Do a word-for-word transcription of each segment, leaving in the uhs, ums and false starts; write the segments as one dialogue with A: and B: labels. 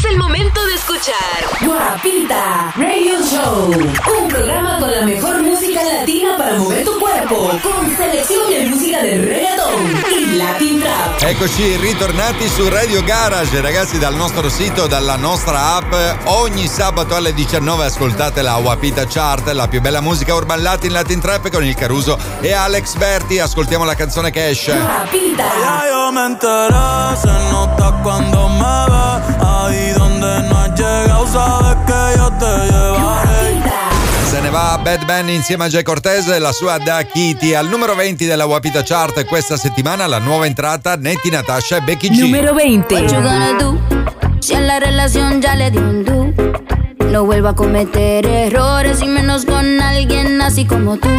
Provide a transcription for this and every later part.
A: Es el momento de escuchar
B: Guapita Radio Show, un programa con la mejor música latina para mover tu cuerpo, con selección di musica del reggaeton, il Latin Trap.
C: Eccoci ritornati su Radio Garage, ragazzi, dal nostro sito, dalla nostra app. Ogni sabato alle diciannove ascoltate la Guapita Chart, la più bella musica urban latin, Latin Trap con il Caruso e Alex Berti. Ascoltiamo la canzone che esce.
B: Guapita.
D: Ya yo me enteré, se nota cuando me ves, ahí donde no has llegado sabes que yo te llevaré.
C: Se ne va Bad Ben insieme a Jay Cortez e la sua Da Kitty. Al numero venti della Guapita Chart questa settimana la nuova entrata Natti Natasha e Becky G.
B: Numero venti.
E: What you gonna do? Si en la relación ya le dio un do, no vuelvo a cometer errores y menos con alguien así como tú,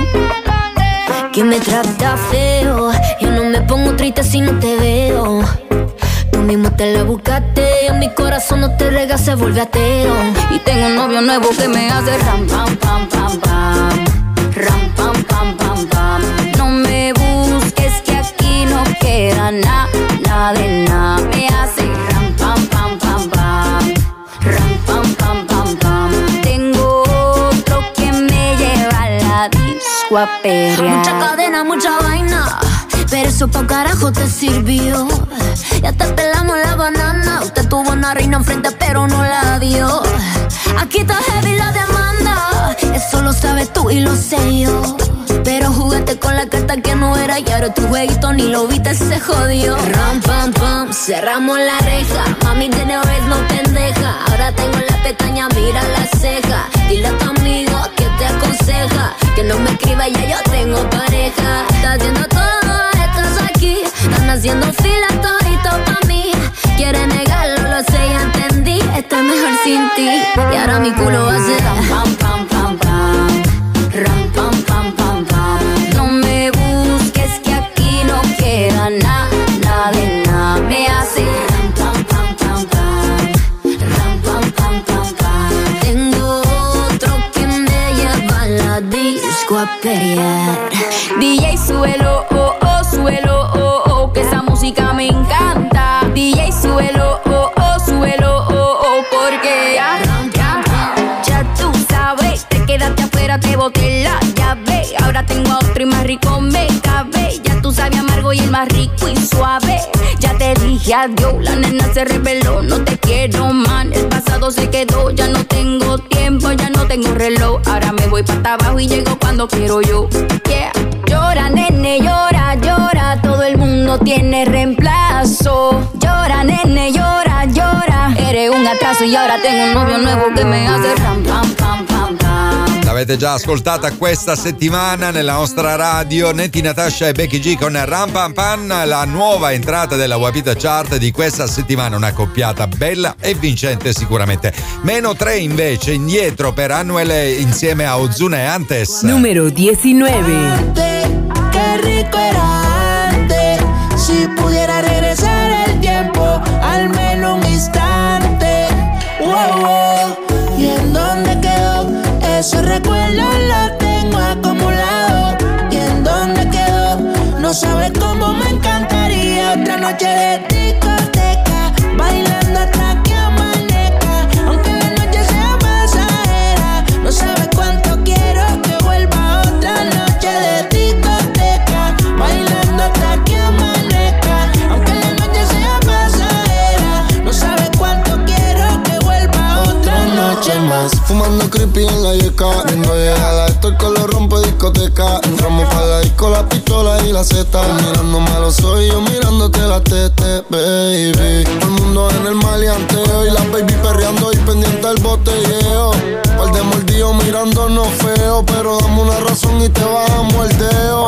E: que me trata feo. Yo no me pongo triste si no te veo. Tú mismo te la buscaste, en mi corazón no te rega, se vuelve ateo. Y tengo un novio nuevo que me hace ram, pam, pam, pam, pam. Ram, pam, pam, pam, pam. No me busques que aquí no queda nada, nada de nada. Me hace ram, pam, pam, pam, pam. Ram, pam, pam, pam, pam. Tengo otro que me lleva a la disco a perrear. Mucha cadena, mucha vaina, pero eso pa' carajo te sirvió. Ya te pelamos la banana. Usted tuvo una reina enfrente pero no la dio. Aquí está heavy la demanda, eso lo sabes tú y lo sé yo. Pero jugaste con la carta que no era y ahora tu jueguito ni lo viste, se jodió. Ram, pam, pam, cerramos la reja. Mami tiene vez no pendeja. Ahora tengo la pestaña, mira la ceja. Dile a tu amigo que te aconseja que no me escriba, ya yo tengo pareja. Está haciendo todo, estás aquí. Están haciendo fila todito pa' mí. Quiere negarlo, lo sé, ya entendí. Estoy mejor sin ti. Y ahora mi culo va a ser ram, pam, pam, pam, pam. Ram, pam, pam, pam, pam. No me busques que aquí no queda nada, nada de nada. Me hace ram, pam, pam, pam, pam. Ram, pam, pam, pam, pam. Tengo otro que me lleva a la disco a pelear. D J suelo, oh, oh, suelo, oh, oh, que esa música me encanta. D J suelo, oh, oh, suelo, oh, oh, porque ya, ya, ya tú sabes, te quedaste afuera, te boté la llave. Ahora tengo a otro y más rico me cabe. Ya tú sabes amargo y el más rico y suave. Ya te dije adiós, la nena se reveló, no te quiero, man. El pasado se quedó, ya no tengo tiempo, ya no tengo reloj. Ahora me voy para abajo y llego cuando quiero yo. Yeah. Llora, nene, llora, llora. Todo el mundo tiene reemplazo. Llora, nene, llora, llora. Eres un atraso y ahora tengo un novio nuevo que me hace ram, pam, pam, pam, pam.
C: L'avete già ascoltata questa settimana nella nostra radio, Natti Natasha e Becky G con Ram Pam Pam, la nuova entrata della Guapita Chart di questa settimana, una coppiata bella e vincente sicuramente. Meno tre invece indietro per Anuel insieme a Ozuna e Antes.
B: Numero diciannove.
F: Qué rico era antes, si pudiera regresar el tiempo, al menos un instante. Wow, wow. ¿Y en dónde quedó? Esos recuerdos los tengo acumulados. ¿Y en dónde quedó? No sabes cómo me encantaría otra noche de discoteca, bailando hasta que amanezca. Aunque la noche sea pasajera, no sabes cuánto quiero que vuelva otra noche de discoteca, bailando hasta que amanezca. Aunque la noche sea pasajera, no sabes cuánto quiero que vuelva otra noche más.
G: Fumando creepy en la yeca, viendo llegada, esto el color rompe discoteca. Entramos pa' la disco, la pistola y la zeta. Mirándome a los ojos y yo mirándote la tete, baby. Todo el mundo en el maleanteo y la baby perreando y pendiente al botelleo. Par de mordidos mirándonos feo, pero dame una razón y te bajamos el dedo.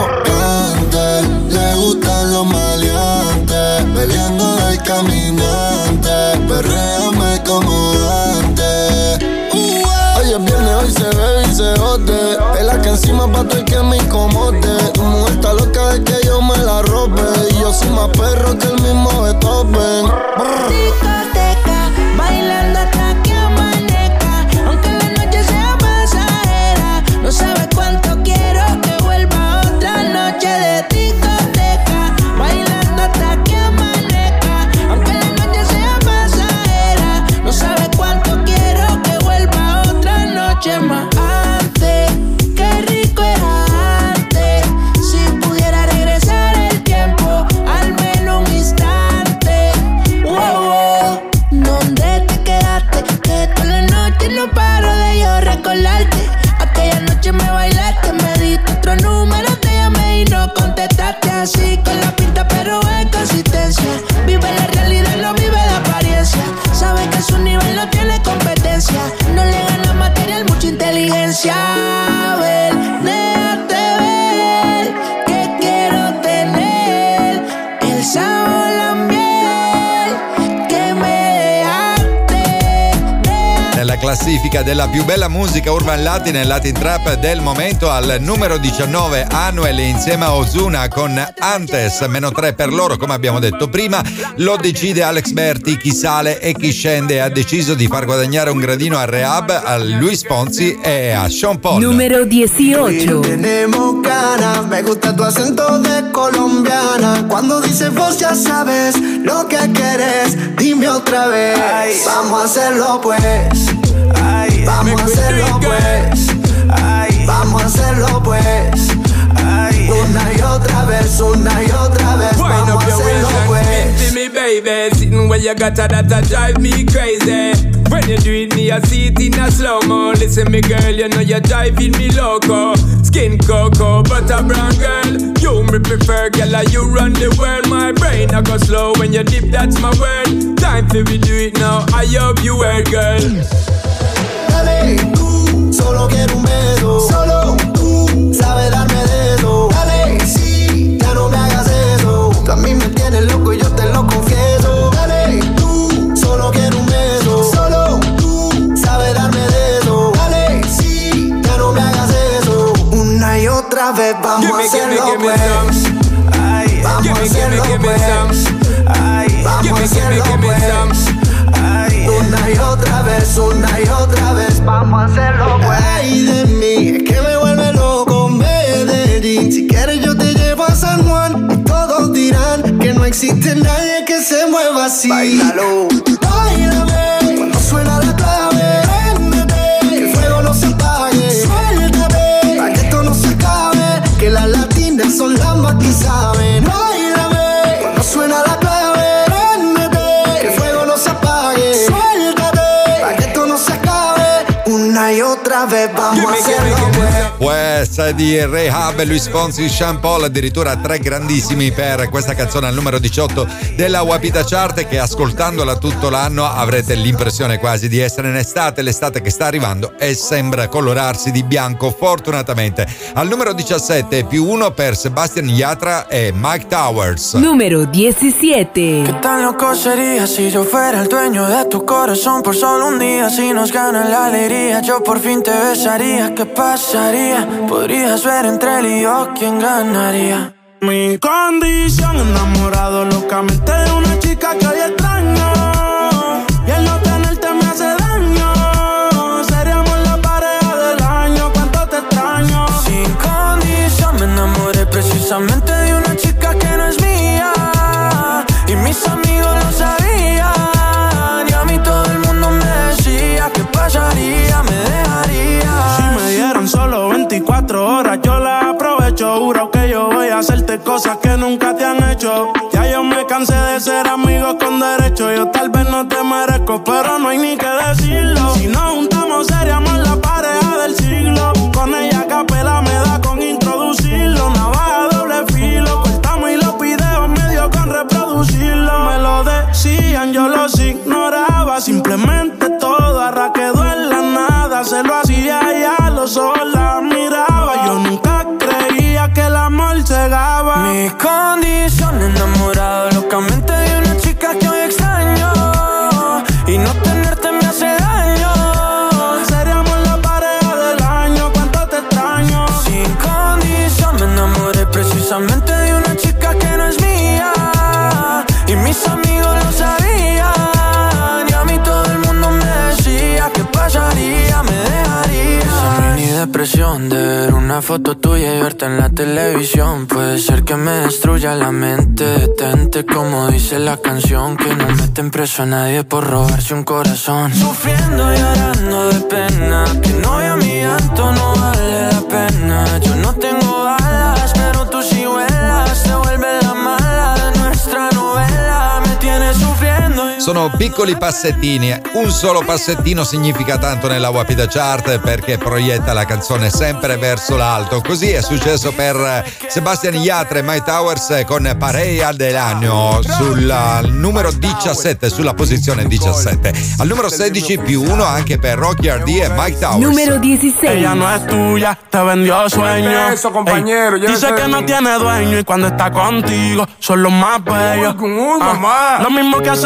G: Antes le gustan los maleantes, peleando del caminante, perréame como antes. Hoy es viernes, hoy se bebe y se jode. Es la que encima pa' todo el que me incomode. Tu mujer está loca de que yo me la robe. Y yo soy más perro que el mismo Beethoven.
F: Discoteca, bailando hasta que amanezca. Aunque la noche sea pasajera, no sabes cuánto quiero que vuelva otra noche de discoteca, bailando hasta que amanezca. Aunque la noche sea pasajera, no sabes
C: nella classifica della più bella musica urban latin e latin trap del momento. Al numero diciannove Anuel insieme a Ozuna con Antes, meno tre per loro come abbiamo detto prima. Lo decide Alex Berti, chi sale e chi scende. Ha deciso di far guadagnare un gradino a Rehab, a Luis Fonsi e a Sean Paul.
B: Numero dieciocho.
F: Tenemos ganas, me gusta tu acento de colombiana. Cuando dices vos ya sabes lo que quieres, dime otra vez. Ay, vamos a hacerlo pues. Ay, vamos a hacerlo pues. Ay, vamos a hacerlo pues. Ay, una y otra vez, una y otra vez. Vamos a hacerlo pues.
H: Me baby, sitting where you got that that drive me crazy. When you do it, me I see it in a slow mo. Listen, me girl, you know you're driving me loco. Skin cocoa, butter brown girl. You me prefer, girl, like you run the world. My brain I go slow when you dip, that's my word. Time for we do it now. I hope you heard, girl.
F: Dale, tú, solo quiero un beso. Solo tú sabes darme dedo. Dale, sí, ya no me hagas eso. Tú a mí me tienes loco y yo te lo confieso. Dale, tú, solo quiero un beso. Solo tú sabes darme dedo. Dale, sí, ya no me hagas eso. Una y otra vez vamos a hacerlo pues. Ay, vamos a hacerlo pues. Ay, vamos a hacerlo pues. Ay, una y otra vez, una y otra vez, vamos a hacerlo pues. Ay, de mí, es que me vuelve loco Medellín. Si quieres yo te llevo a San Juan y todos dirán que no existe nadie que se mueva así. Báilalo, báilame, cuando suena la clave, préndete, que el fuego no se apague. Suéltate, para que esto no se acabe, que las latinas son las más que saben. Báilame, cuando suena la clave, préndete, que el fuego no se apague. Suéltate, para que esto no se acabe, una y otra vez vamos a hacerlo pues.
C: Pues di Rehab, Luis Fonsi, Sean Paul, addirittura tre grandissimi per questa canzone al numero diciotto della Wapita Chart, che ascoltandola tutto l'anno avrete l'impressione quasi di essere in estate, l'estate che sta arrivando e sembra colorarsi di bianco fortunatamente. Al numero diciassette più uno per Sebastian Yatra e Mike Towers.
B: Numero diecisiete.
I: ¿Qué tan loco sería si yo fuera el dueño de tu corazón por solo un día? Si nos gana la alegría, yo por fin te besaría. ¿Qué pasaría? Podrías ver entre él y yo quién ganaría.
J: Mi condición, enamorado locamente de una chica que hoy extraño. Y el no tenerte me hace daño. Seríamos la pareja del año, cuánto te extraño.
I: Sin condición me enamoré precisamente de una chica que no es mía. Y mis amigos lo sabían. Y a mí todo el mundo me decía ¿qué pasaría? Me dejaría.
J: Si me dieron solo veinticuatro horas, yo las aprovecho. Juro que yo voy a hacerte cosas que nunca te han hecho. Ya yo me cansé de ser amigos con derecho. Yo tal vez no te merezco, pero no hay ni que decirlo. Si nos juntamos seríamos la pareja del siglo. Con ella a capela me da con introducirlo. Navaja doble filo, cortamos y los videos medio con reproducirlo. Me lo decían, yo los ignoraba. Simplemente todo arra quedó en la nada. Se lo hacía y a los ojos la miraba. Yo nunca creía que el amor cegaba.
I: Mi condición, enamorado locamente de una chica que hoy extraño. Y no tenerte me hace daño.
J: Seríamos la pareja del año, cuánto te extraño.
I: Sin condición me enamoré precisamente de una chica que no es mía. Y mis amigos lo sabían. Y a mí todo el mundo me decía ¿qué pasaría? Me dejaría. Esa mini depresión de ver una foto tuya y verte en la televisión. Puede ser que me destruya la mente. Detente como dice la canción, que no meten preso a nadie por robarse un corazón. Sufriendo y llorando de pena, que no vea mi llanto, no vale la pena. Yo no tengo alas, pero tú sí vuelas. Se vuelve la mala de nuestra novela. Me tienes sufriendo y...
C: Sono piccoli passettini, un solo passettino significa tanto nella Wapita Chart perché proietta la canzone sempre verso l'alto. Così è successo per Sebastian Yatra e Mike Towers con Pareja dell'anno sul numero diciassette, sulla posizione diciassette. Al numero sedici più uno anche per Rocky R D e Mike Towers.
B: Numero dieciséis.
J: Ella no es tuya, te vendió sueño.
H: Eso, compañero.
J: Ey, dice que no tiene dueño y cuando está contigo son los más bellos.
H: Uy, uy,
J: Ah,
H: mamá.
J: lo mismo que hace con él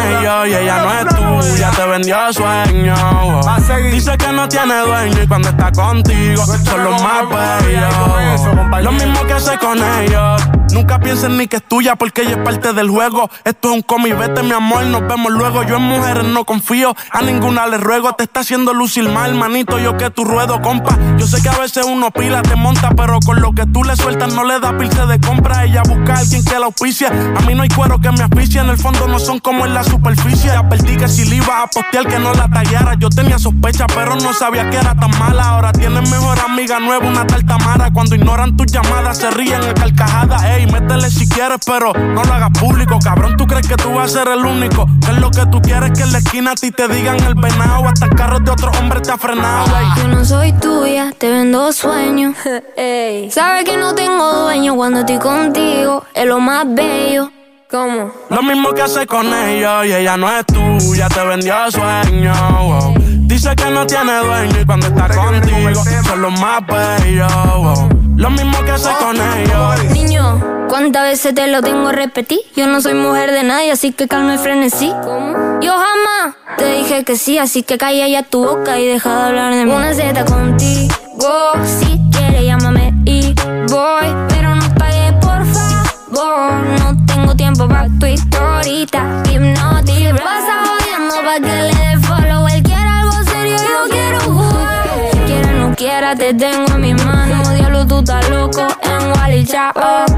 J: ellos y ella no es tuya, te vendió sueño. Dice que no tiene dueño y cuando está contigo son los más bellos. Lo mismo que hace con ellos. Nunca pienses ni que es tuya porque ella es parte del juego. Esto es un cómic, vete mi amor, nos vemos luego. Yo en mujeres no confío, a ninguna le ruego. Te está haciendo lucir mal, manito, yo que tu ruedo, compa. Yo sé que a veces uno pila, te monta, pero con lo que tú le sueltas no le da pilce de compra. Ella busca a alguien que la auspicia. A mí no hay cuero que me asfixie, en el fondo no son como en la superficie. Advertí que si le iba a postear que no la tagueara. Yo tenía sospecha, pero no sabía que era tan mala. Ahora tienes mejor amiga nueva, una tal Tamara. Cuando ignoran tus llamadas se ríen a carcajadas. Ey, métele si quieres, pero no lo hagas público. Cabrón, tú crees que tú vas a ser el único. Que es lo que tú quieres, que en la esquina a ti te digan el venado. Hasta el carro de otro hombre te ha frenado. Ey.
E: Yo no soy tuya, te vendo sueños. Ey. Sabes que no tengo dueño cuando estoy contigo. Es lo más bello. ¿Cómo?
J: Lo mismo que hace con ellos y ella no es tuya, te vendió sueño. Wow. Dice que no tiene dueño y cuando está contigo son los más bellos. Wow. Lo mismo que hace con ellos.
E: Niño, ¿cuántas veces te lo tengo a repetir? Yo no soy mujer de nadie, así que calma y frenesí. ¿Cómo? Yo jamás te dije que sí, así que calla ya tu boca y deja de hablar de mí. Una Z contigo, si quieres llámame y voy, pero no pagues por favor. No tengo tiempo pa' tu historita, hipnotic. Pasa jodiendo pa' que le dé follow. Él quiere algo serio, yo quiero jugar. Quiera no quiera, te tengo en mis manos. Diablo, tú estás loco en Wally Chao.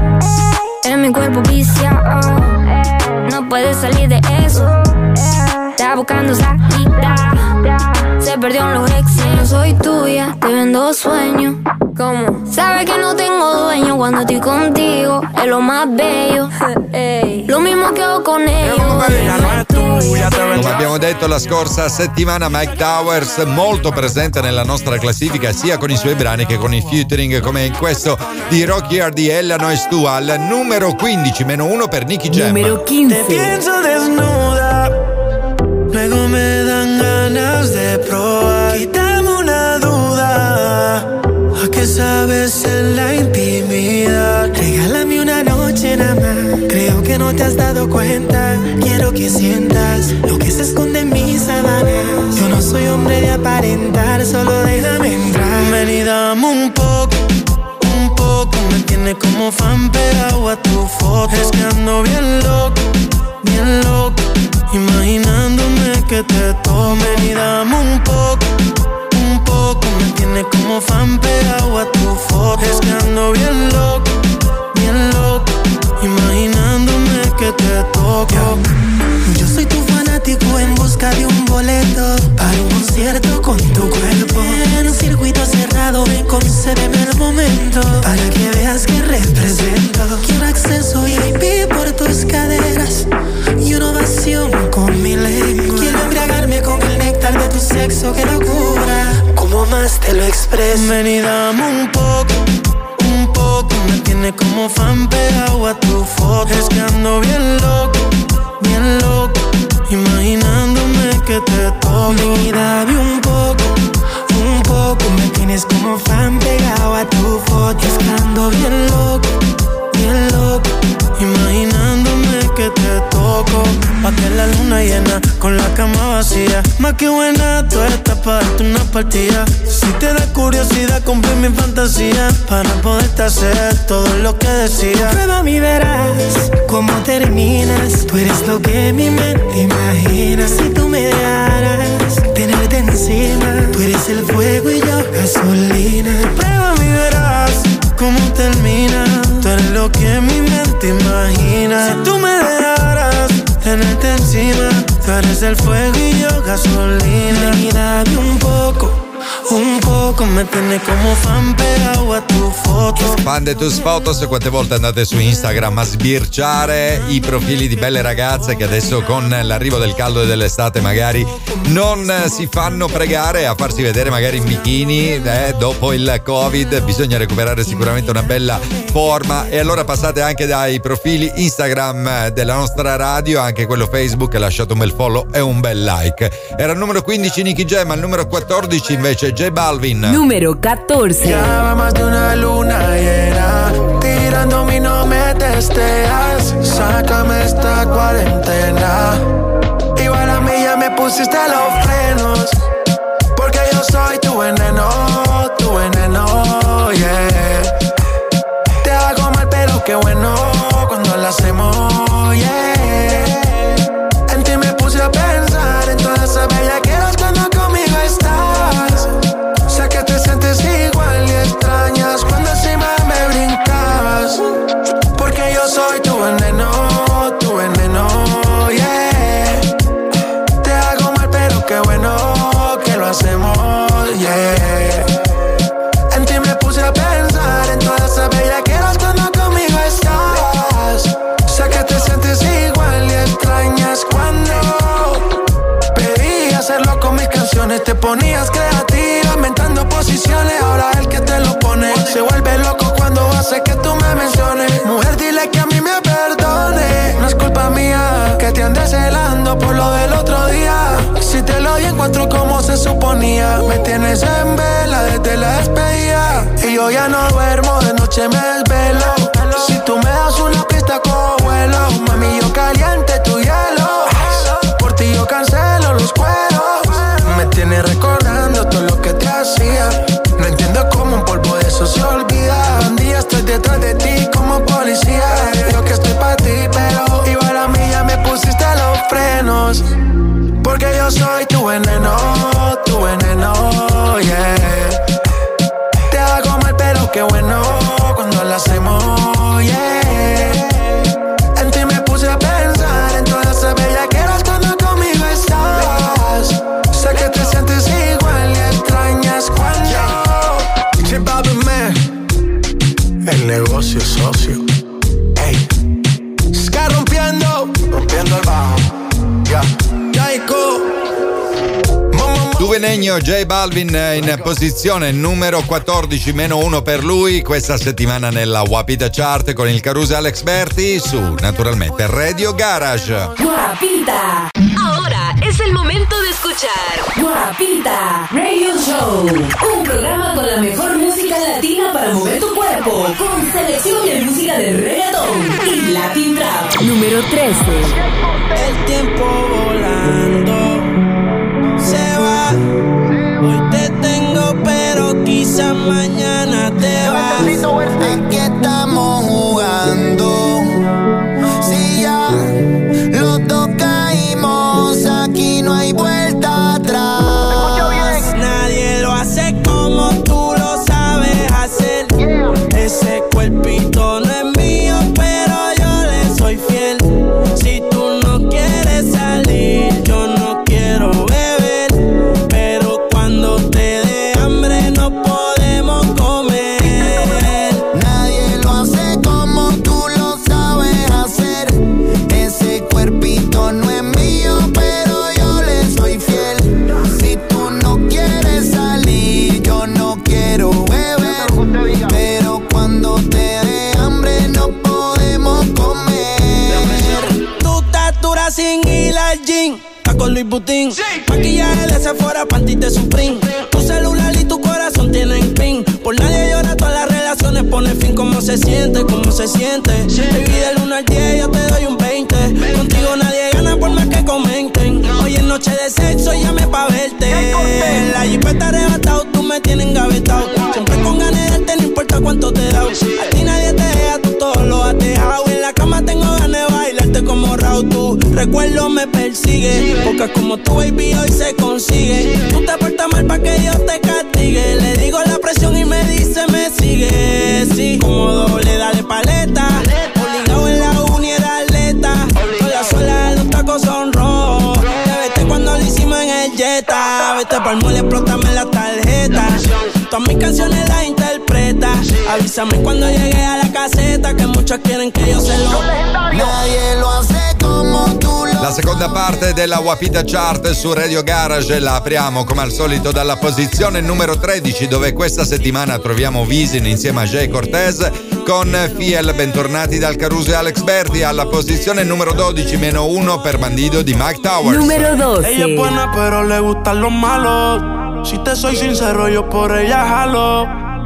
E: En mi cuerpo viciado, no puedes salir de eso. Está buscando salida, se perdió en los exes. No soy tuya, te vendo sueños. ¿Cómo? Sabes que no tengo dueño cuando estoy contigo. Es lo más bello. Ey. Lo mismo che ho con ellos.
C: Come abbiamo detto la scorsa settimana, Mike Towers molto presente nella nostra classifica sia con i suoi brani che con i featuring, come in questo di Rocky Hard di Ella No Es Tu, al numero quindici, meno uno per Nicky Jam.
B: Numero quince.
I: Te pienso desnuda, luego me dan ganas de probar. Quítame una duda, ¿a qué sabes en la intimidad? Regálame una noche nada más, creo que no te has dado cuenta. Quiero que sientas lo que se esconde en mis sábanas. Yo no soy hombre de aparentar, solo déjame entrar. Ven y dame un poco, un poco. Me tiene como fan pegado a tu foto. Es que ando bien loco, bien loco, imaginándome que te tomen. Y dame un poco, un poco. Me tiene como fan pegado a tu foto. Es que ando bien loco, bien loco, imaginándome que te toco. Yo soy tu fanático en busca de un boleto para un concierto con tu cuerpo. En un circuito cerrado, ven, concédeme el momento para que veas que represento. Quiero acceso V I P por tus caderas y una ovación con mi lengua. Quiero embriagarme con el néctar de tu sexo, que locura, como más te lo expreso. Ven y dame un poco, un poco. Me tiene como fan pegado a tu foto. Es que ando bien loco, bien loco, imaginándome que te toco. Y dame un poco, un poco. Me tienes como fan pegado a tu foto. Es que ando bien loco, bien loco, imaginándome que te toco. Pa' que la luna llena con la cama vacía. Más que buena, tú estás pa' darte una partida. Si te da curiosidad, cumple mi fantasía para poderte hacer todo lo que decía. Prueba y verás cómo terminas. Tú eres lo que mi mente imagina. Si tú me dejaras tenerte encima, tú eres el fuego y yo gasolina. Prueba y verás cómo termina. Tú eres lo que mi mente imagina. Si tú me dejaras tenerte encima, tú eres el fuego y yo gasolina. Y dame un poco, un poco. Me tiene come fan pegado a tu foto.
C: Fan de tus fotos. Quante volte andate su Instagram a sbirciare i profili di belle ragazze che adesso con l'arrivo del caldo e dell'estate magari non si fanno pregare a farsi vedere magari in bikini, eh, dopo il Covid bisogna recuperare sicuramente una bella forma, e allora passate anche dai profili Instagram della nostra radio, anche quello Facebook, lasciate un bel follow e un bel like. Era il numero quindici Nicky Jam, al numero quattordici invece J Balvin.
B: Numero catorce.
I: Ya va más de una luna llena, tirándome y no me testeas. Sácame esta cuarentena.
F: Igual a mí ya me pusiste los frenos, porque yo soy tu veneno, tu veneno, yeah. Te hago mal pero qué bueno cuando lo hacemos, yeah. En ti me puse a pensar en todas esas bellaqueras cuando conmigo estás. Sé que te sientes igual y extrañas cuando encima me brincabas, porque yo soy tu veneno, tu veneno, yeah. Te hago mal pero qué bueno que lo hacemos, yeah. En ti me puse a pensar en todas esas bellaqueras cuando conmigo estás. Sé que te sientes igual y extrañas cuando pedí hacerlo con mis canciones. Te ponías creativa, inventando posiciones. Ahora el que te lo pone se vuelve loco cuando hace que tú me menciones. Mujer, dile que a mí me perdone. No es culpa mía que te andes celando por lo del otro día. Si te lo di encuentro como se suponía. Me tienes en vela desde la despedida y yo ya no duermo, de noche me desvelo. Si tú me das una pista cojo vuelo. Mami, yo caliente tu hielo. Por ti yo cancelo los cueros. Me tienes recordando todo lo que te hacía. No entiendo cómo un polvo de eso se olvida. Un día estoy detrás de ti como policía. Yo que estoy pa' ti, pero igual a mí ya me pusiste los frenos, porque yo soy tu veneno, tu veneno, yeah. Te hago mal pero qué bueno cuando lo hacemos, yeah. En ti me puse a pensar en todas esas bellaqueras cuando conmigo estás. Sé que te sientes igual y extrañas cuando J Balvin, man. El negocio es socio. Ey, Ska rompiendo, rompiendo el bajo. Ya, yeah. Jaiko.
C: Duvenegno, J Balvin in posizione numero quattordici, meno uno per lui questa settimana nella Wapita Chart con il Caruso Alex Berti su, naturalmente, Radio Garage.
B: Guapita.
A: Ahora es el momento de escuchar
B: Guapita Radio Show, un programa con la mejor música latina para mover tu cuerpo, con selección de música de reggaetón y Latin Trap.
K: Número trece.
F: El tiempo volando se va. Hoy te tengo, pero quizás mañana te vas.
L: Aquí estamos jugando. Si ya los dos caímos, aquí no hay vuelta atrás.
F: Nadie lo hace como tú lo sabes hacer. Ese cuerpito no es mío, pero yo le soy fiel. Si tú no quieres salir, yo no quiero beber, pero cuando te dé hambre no podemos comer.
L: Nadie lo hace como tú lo sabes hacer. Ese cuerpito no es mío, pero yo le soy fiel. Si tú no quieres salir, yo no quiero beber, pero cuando te dé hambre no podemos comer.
F: Tu estatura sin ir al gym, está con Luis Butín, sí. Maquillaje de Sephora, panty de Supreme. Tu celular y tu corazón tienen pin. Por nadie llora, todas las relaciones pone fin. ¿Cómo se siente? ¿Cómo se siente? Sí. Baby, del uno al diez yo te doy un veinte. Contigo nadie gana por más que comenten. Hoy es noche de sexo, llame pa' verte. La jipeta arrebatado, tú me tienes engavetado. Siempre con ganas de darte, no importa cuánto te da. A ti nadie te deja, tú todo lo has dejado. En la cama tengo ganas de bailarte como Raúl. Tu recuerdo me persigue, porque como tu baby hoy se consigue. Tú te portas mal pa' que yo te castigue. Le digo la presión y me dice me sigue. Sí, como doble, dale paleta. Obligado en la uni era atleta. Con la suela de los tacos son rojos. Te vete cuando lo hicimos en el Jetta. Vete pa'l mole, explótame la tarjeta. Todas mis canciones las interpreta. Avísame cuando llegue a la caseta, que muchos quieren que yo se lo.
L: Nadie lo hace como tú lo.
C: La seconda parte della Wapita Chart su Radio Garage la apriamo come al solito dalla posizione numero tredici, dove questa settimana troviamo Wisin insieme a Jay Cortez con Fiel. Bentornati dal Caruso e Alex Berti. Alla posizione numero dodici, meno uno per Bandido di Mike Towers.
K: Numero doce.
J: Ella es buena pero le gustan los malos. Si te soy sincero yo por ella jalo.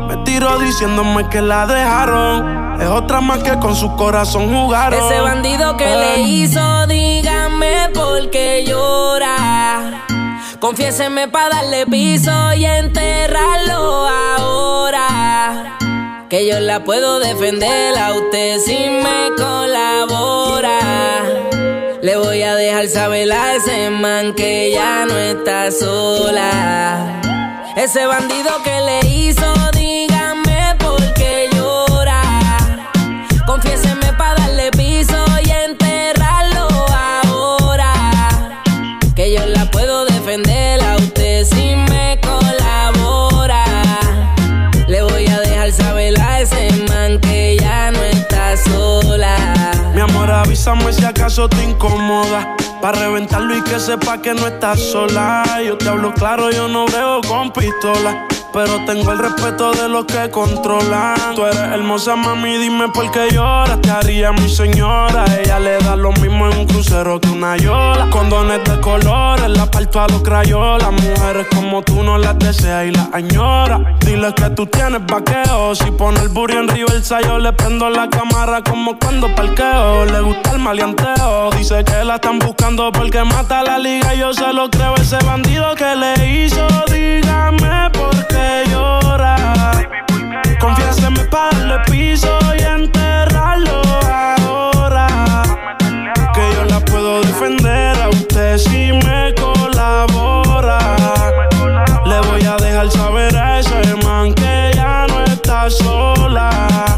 J: Me tiró diciéndome que la dejaron. Es otra más que con su corazón jugaron.
K: Ese bandido que le hizo, dígame por qué llora. Confiéseme pa' darle piso y enterrarlo ahora. Que yo la puedo defender a usted si me colabora. Le voy a dejar saber a ese man que ya no está sola. Ese bandido que le hizo, dígame por qué llora. Confiéseme pa' darle piso y enterrarlo ahora. Que yo la puedo defender a usted si me colabora. Le voy a dejar saber a ese man que ya no está sola.
J: Mi amor, avísame si acaso te incomoda, pa' reventarlo y que sepa que no estás sola. Yo te hablo claro, yo no brego con pistola, pero tengo el respeto de los que controlan. Tú eres hermosa, mami, dime por qué lloras. Te haría mi señora. Ella le da lo mismo en un crucero que una yola. Condones de colores, la parto a los crayolas. Mujeres como tú no las deseas y las añora. Dile que tú tienes vaqueo. Si pone el burro en reversa, yo le prendo la cámara como cuando parqueo. Le gusta el maleanteo. Dice que la están buscando porque mata la liga y yo se lo creo. Ese bandido que le hizo, dígame por qué llora. Confiéseme pa' darle piso y enterrarlo ahora. Que yo la puedo defender a usted si me colabora. Le voy a dejar saber a ese man que ya no está sola.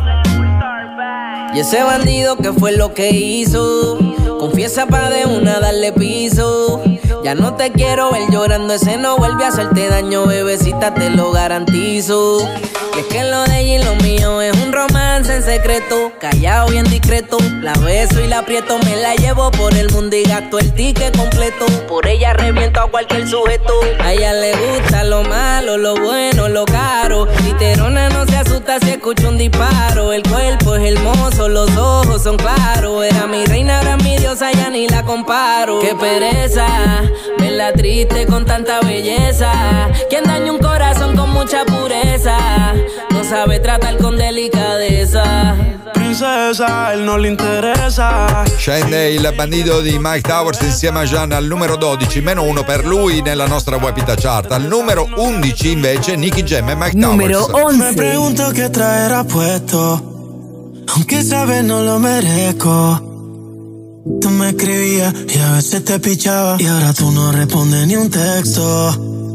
K: Y ese bandido que fue lo que hizo, confiesa pa' de una darle piso. Ya no te quiero ver llorando, ese no vuelve a hacerte daño, bebecita, te lo garantizo. Y es que lo de ella y lo mío es un romance en secreto, callado bien discreto. La beso y la aprieto, me la llevo por el mundo y gasto el ticket completo. Por ella reviento a cualquier sujeto. A ella le gusta lo malo, lo bueno, lo caro. Literona no se asusta si escucha un disparo. El cuerpo es hermoso, los ojos son claros. Era mi reina, ahora mi diosa, ya ni la comparo. Qué pereza verla triste con tanta belleza. Quien daña un corazón con mucha pureza no sabe tratar con delicadeza.
J: Princesa, él no le interessa.
C: Scende il bandito di Mike Towers insieme a Gian al numero dodici, meno uno per lui nella nostra Wapita Chart. Al numero undici invece Nicky Jam e Mike
F: Numero
C: Towers.
F: once. Me pregunto qué traerá puesto, aunque sabes no lo merezco. Tú me escribías y a veces te pichaba, y ahora tú no respondes ni un texto.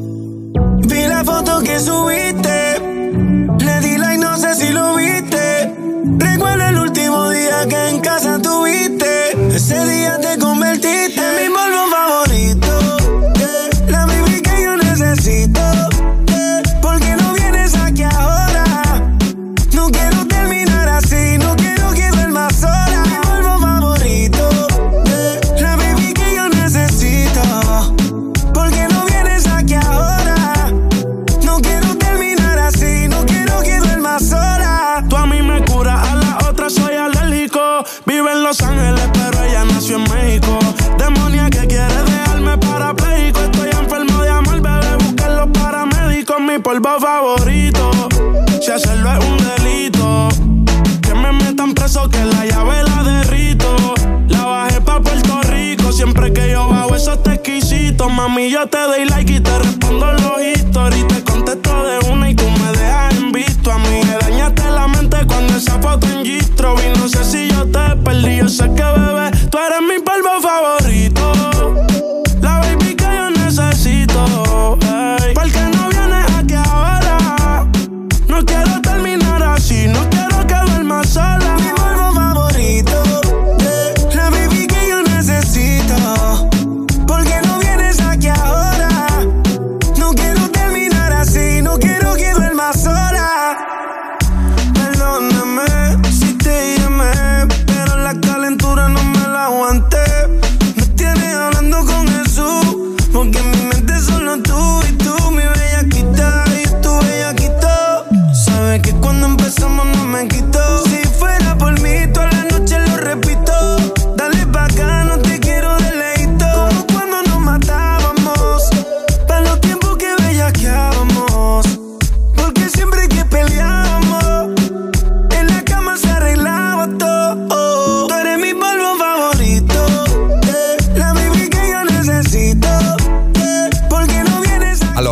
F: Vi la foto que subiste, le di like, no sé si lo viste. Recuerdo el último día que en casa tuviste. Ese día te convertiste en mi polvo favorito, yeah. La baby que yo necesito, yeah. ¿Por qué no vienes aquí ahora? No quiero terminar así, no quiero que duermas sola. Mi polvo favorito, yeah. La baby que yo necesito. ¿Por qué no vienes aquí ahora? No quiero terminar así, no quiero que duermas sola.
J: Tú a mí me curas, a la otra soy alérgico. Vive en Los Ángeles, pero ella nació en México. Demonia que quiere dejarme parapléjico. Estoy enfermo de amor, bebé, busquen los paramédicos. Mi polvo favorito, si hacerlo es un delito, que me metan preso, que la llave la derrito. La bajé pa' Puerto Rico, siempre que yo bajo eso está exquisito. Mami, yo te doy like y te respondo los stories. Te contesto de una y tú me dejas en visto. A mí me dañaste la mente cuando esa foto en Gistro vi. No sé si yo te perdí, yo sé que bebé, tú eres mi polvo favorito. La baby que yo necesito, ey. ¿Por qué no vienes aquí ahora? No quiero terminar así, no quiero que duermas sola.
F: Mi polvo favorito, yeah. La baby que yo necesito. ¿Por qué no vienes aquí ahora? No quiero terminar así, no quiero que duermas sola. Perdóname si te llamé, pero la calentura no me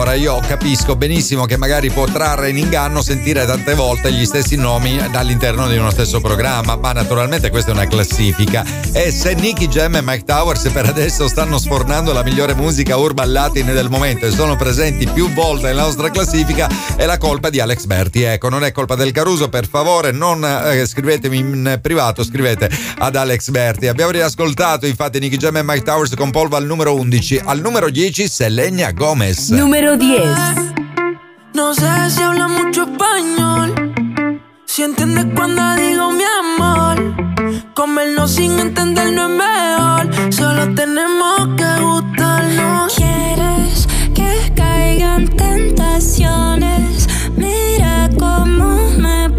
C: Ora io capisco benissimo che magari può trarre in inganno sentire tante volte gli stessi nomi all'interno di uno stesso programma, ma naturalmente questa è una classifica. E se Nicky Jam e Mike Towers per adesso stanno sfornando la migliore musica urban latin del momento e sono presenti più volte nella nostra classifica, è la colpa di Alex Berti. Ecco, non è colpa del Caruso, per favore non eh, scrivetemi in privato, scrivete ad Alex Berti. Abbiamo riascoltato infatti Nicky Jam e Mike Towers con Polvo al numero undici. Al numero dieci Selena Gomez.
B: Numero diez.
I: No sé si habla mucho español, si entiendes cuando digo mi amor. Comernos sin entender no es mejor, solo tenemos que gustarnos.
E: ¿Quieres que caigan tentaciones? Mira cómo me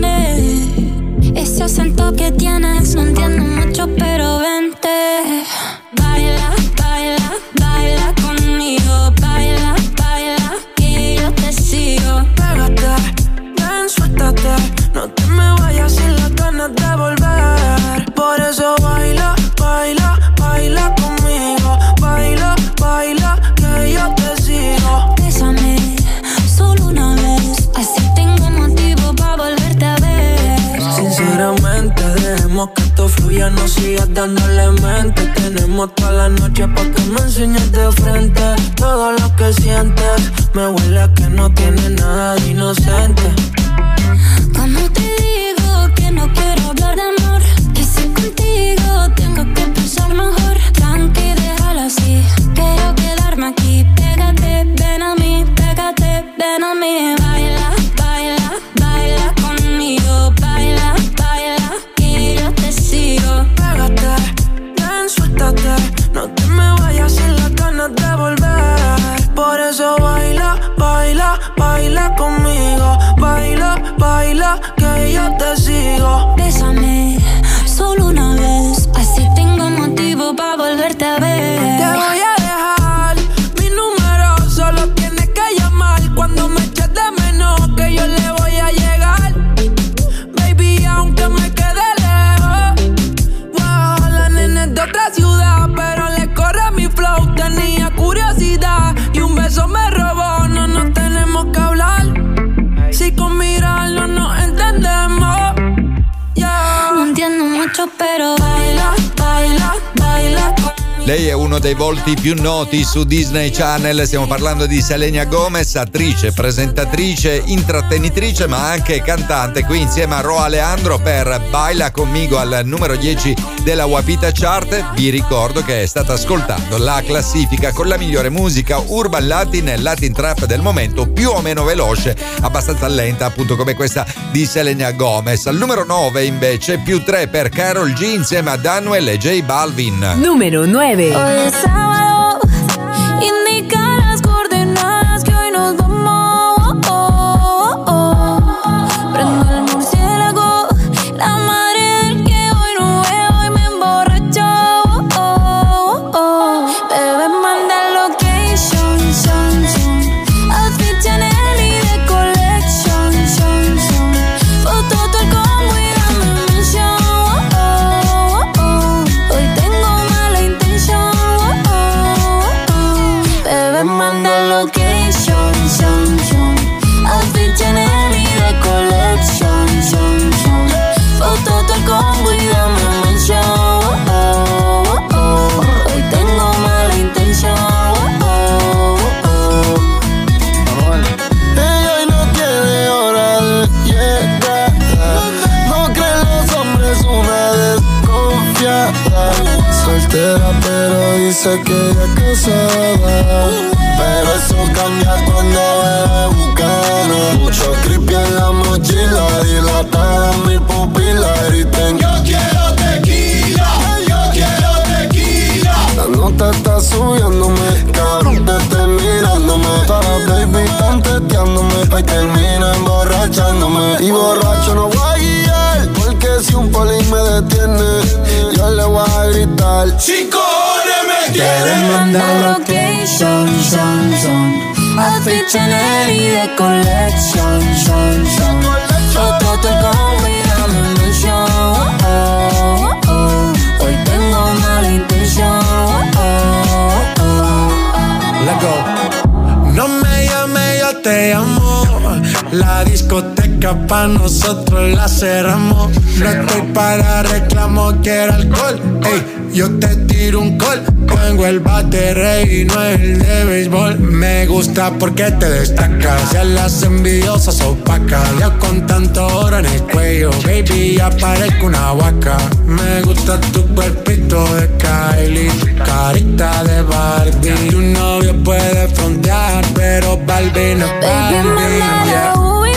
E: pone ese acento que tienes, no entiendo mucho pero vente. Baila, baila, baila conmigo, baila, baila, que yo te sigo.
I: Pégate, ven, suéltate, no te me vayas sin las ganas de volver. Por eso baila, baila, baila conmigo, baila, baila, que yo te sigo.
E: Bésame, solo una vez, así tengo motivo para volverte a ver.
I: Sinceramente, dejemos que esto fluya, no sigas dándole mente. Tenemos toda la noche pa' que me enseñes de frente todo lo que sientes. Me huele a que no tiene nada de inocente.
E: ¿Cómo te digo que no quiero hablar de amor? Que si contigo tengo que pensar mejor. Tranqui, déjalo así, quiero quedarme aquí. Pégate, ven a mí, pégate, ven a mí. Baila, baila, baila conmigo. Baila, baila, que yo te sigo.
I: Pégate, ven, suéltate, no te me vayas sin las ganas de volver. Por eso baila, baila, baila conmigo. Baila, baila, que yo te sigo.
E: Bésame, solo una vez, así tengo motivo para volverte a ver.
I: Te voy a dejar mi número, solo tienes que llamar cuando me eches de menos, que yo le voy a llegar. Baby, aunque me quede lejos, wow, la nena es de otra ciudad, pero le corre mi flow. Tenía curiosidad y un beso me robó. No nos tenemos que hablar, si con mirarlo nos entendemos. Yeah.
E: No entiendo mucho, pero baila, baila, baila conmigo.
C: Lei è uno dei volti più noti su Disney Channel, stiamo parlando di Selena Gomez, attrice, presentatrice, intrattenitrice ma anche cantante, qui insieme a Ro Alejandro per Baila Conmigo al numero dieci della Wapita Chart. Vi ricordo che state ascoltando la classifica con la migliore musica urban latin e latin trap del momento, più o meno veloce, abbastanza lenta appunto come questa di Selena Gomez. Al numero nove invece più tre per Karol G insieme a Danuel e J Balvin.
B: Numero nueve.
E: Hoy es sábado, indica las coordenadas que hoy nos vamos. Oh, oh, oh. Prendo el murciélago, la madre del que hoy no veo y me emborracho. Oh, oh, oh. Bebé, manda location, son, son. Outfit Chanel y de collection, son, son. Foto todo el combo y dame mention. Oh, oh, oh. Hoy tengo mala intención. Bebé, manda location, son, son. Outfit Chanel y de collection, son, son. Foto todo el combo y dame mention. Oh, oh, oh. Hoy tengo mala intención. Oh, oh, oh.
G: Ella hoy no tiene hora de llegar. No creen los hombres una desconfiada. Soltera pero dice que ella es casada. Pero eso cambia cuando bebe bucana. Mucho creepy en la mochila, dilatada en mi pupila. Griten: yo quiero tequila, yo quiero tequila. La nota está subiéndome, cabrón te estoy mirándome. Todas las baby están teteándome, ay termina emborrachándome. Y borracho no voy a guiar, porque si un poli me detiene, yo le voy a gritar: ¡cinco cojones me
E: Quieren mandar location, son, son. Outfit Chanel y de collection, son, son. Foto te combo y dame mention. Oh, oh, oh. Hoy tengo mala intención. Oh, oh, oh.
M: Let go.
J: No me llames, yo te amo. La discoteca pa' nosotros la cerramos. No estoy para reclamo, quiero alcohol. Ey, yo te tiro un call. Tengo el bate rey y no el de béisbol. Me gusta porque te destacas. Ya las envidiosas opacas. Ya con tanto oro en el cuello, baby, ya parezco una vaca. Me gusta tu cuerpito de Kylie, carita de Barbie. Tu novio puede frontear, pero Barbie no es Barbie. Yeah.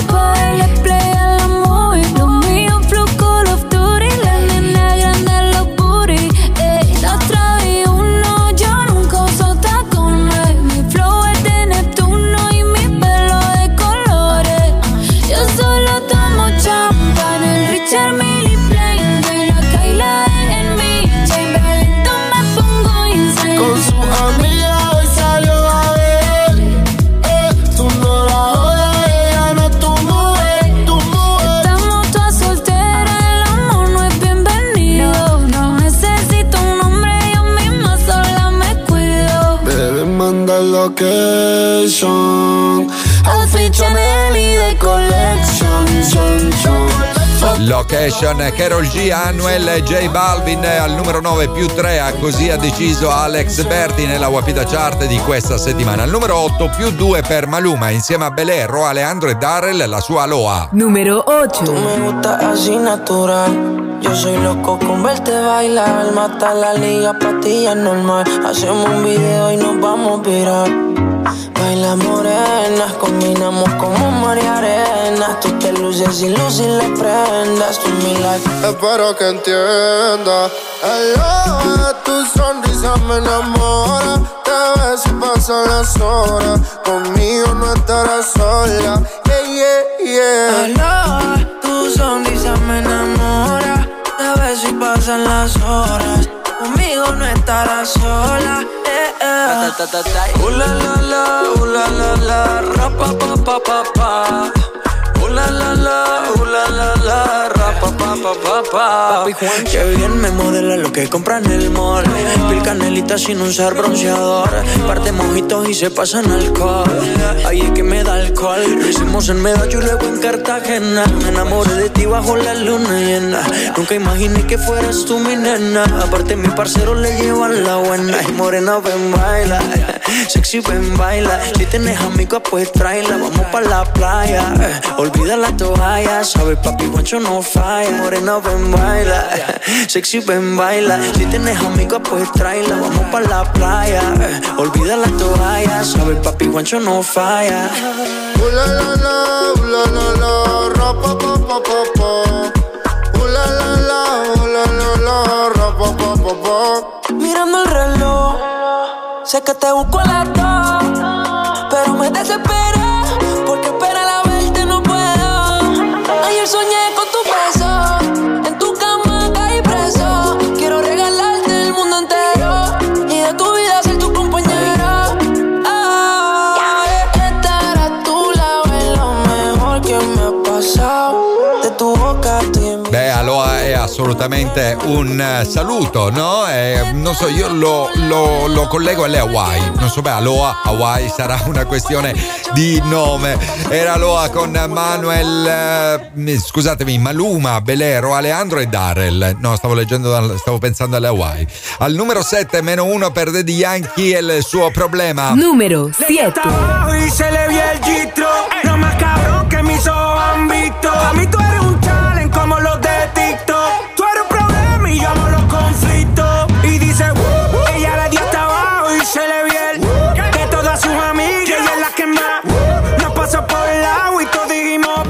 F: Location, outfit Chanel y de collection, son, son.
C: Location, Karol G, Anuel e J Balvin al numero nove più tre, ha così ha deciso Alex Berti nella Wapita Chart di questa settimana. Al numero otto più due per Maluma insieme a Belé, Ro Alejandro e Darrell, la sua Aloha.
A: Numero otto.
I: Tú me gusta así natural. Yo soy loco con verte bailar. Mata la liga, pastillas normal. Hacemos un video y nos vamos a virar. Baila morenas, combinamos como mar y arena. Tú te luces y luces las prendas. Tú mi life.
G: Espero que entiendas. Aloha, tu sonrisa me enamora. Te ves y pasan las horas. Conmigo no estarás sola. Yeah, yeah, yeah.
I: Aloha, tu sonrisa me enamora. Te ves y pasan las horas. Conmigo no estarás sola. Eh, eh. Uh la la la, uh la la la, ra pa pa pa pa pa. Uh la la la, uh la la la, ra pa pa pa pa pa. Papi Juan, que bien me modela lo que compra en el mall. Pil canelita sin usar bronceador. Parte mojitos y se pasan alcohol. Ahí es que me da alcohol. Lo hicimos en Medallo y luego en Cartagena. Me enamoré de ti bajo la luna llena. Nunca imaginé que fueras tú mi nena. Aparte mi parcero le llevan la buena. Y morena ven baila, sexy ven baila. Si tienes amigos pues tráela. Vamos pa' la playa, olvida la toalla. Sabes papi Juancho no falla. Morena ven baila, sexy ven baila. Si tienes amigos pues tráela. Vamos pa' la playa, olvida la toalla. Sabes papi Juancho no falla.
G: Uh la la la, uh la la la, ra pa pa pa pa pa. Uh la la la, uh la la la, ra pa pa pa pa.
I: Mirando el reloj, sé que te busco a las dos, pero me desespera porque esperar a verte no puedo. Ayer soñé con tu beso, en tu cama caí preso. Quiero regalarte el mundo entero y de tu vida ser tu compañero. Ah, estar a tu lado es lo mejor que me ha pasado. De tu boca estoy en mi...
C: Beh, Aloha è assolutamente un uh, saluto, no? Eh, non so, io lo, lo, lo collego alle Hawaii. Non so, beh, Aloha, Hawaii sarà una questione di nome. Era Aloha con Manuel, uh, scusatemi, Maluma, Belé, Ro Alejandro e Darrell. No, stavo leggendo, stavo pensando alle Hawaii. Al numero sette, meno uno per Daddy Yankee e il suo problema.
A: Numero siete.
J: Y se le vio el gistro, lo más cabrón que mis ojos han visto. A mí tú eres un challenge como los de TikTok. Tú eres un problema y yo amo los conflictos. Y dice, uh, ella le dio hasta abajo y se le vio el de todas sus amigas, ella es la que más nos pasó por el agua y todos dijimos,